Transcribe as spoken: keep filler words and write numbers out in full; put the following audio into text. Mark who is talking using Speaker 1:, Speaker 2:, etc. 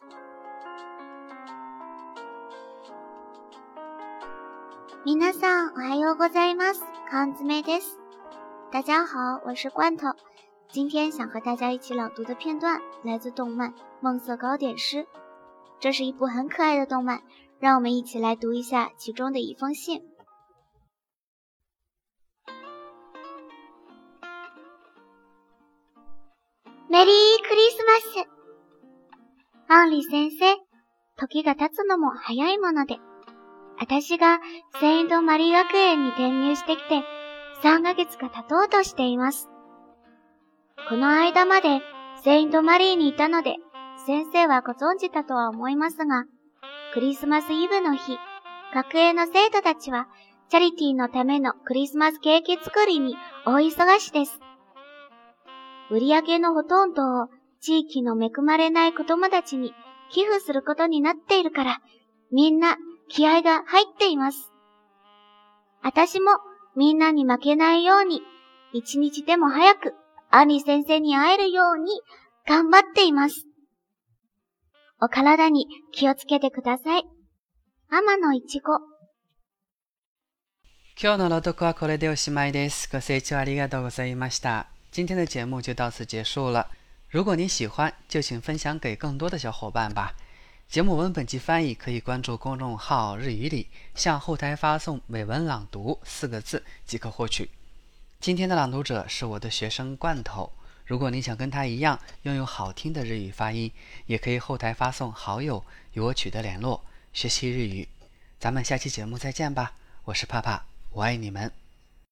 Speaker 1: 皆さんおはようございます。缶詰です。大家好，我是罐头。今天想和大家一起朗读的片段来自动漫《梦色糕点师》，这是一部很可爱的动漫，让我们一起来读一下其中的一封信。メリークリスマス。アンリ先生、時が経つのも早いもので、私がセイントマリー学園に転入してきてさんかげつが経とうとしています。この間までセイントマリーにいたので、先生はご存知だとは思いますが、クリスマスイブの日、学園の生徒たちはチャリティーのためのクリスマスケーキ作りに大忙しです。売り上げのほとんどを地域の恵まれない子供たちに寄付することになっているから、みんな気合が入っています。私もみんなに負けないように、一日でも早くアニ先生に会えるように頑張っています。お体に気をつけてください。天野いちご。
Speaker 2: 今日の朗読はこれでおしまいです。ご清聴ありがとうございました。今天的节目就到此结束了。如果您喜欢，就请分享给更多的小伙伴吧。节目文本及翻译可以关注公众号日语里，向后台发送美文朗读四个字即可获取。今天的朗读者是我的学生罐头，如果你想跟他一样拥有好听的日语发音，也可以后台发送好友与我取得联络，学习日语。咱们下期节目再见吧，我是帕帕，我爱你们。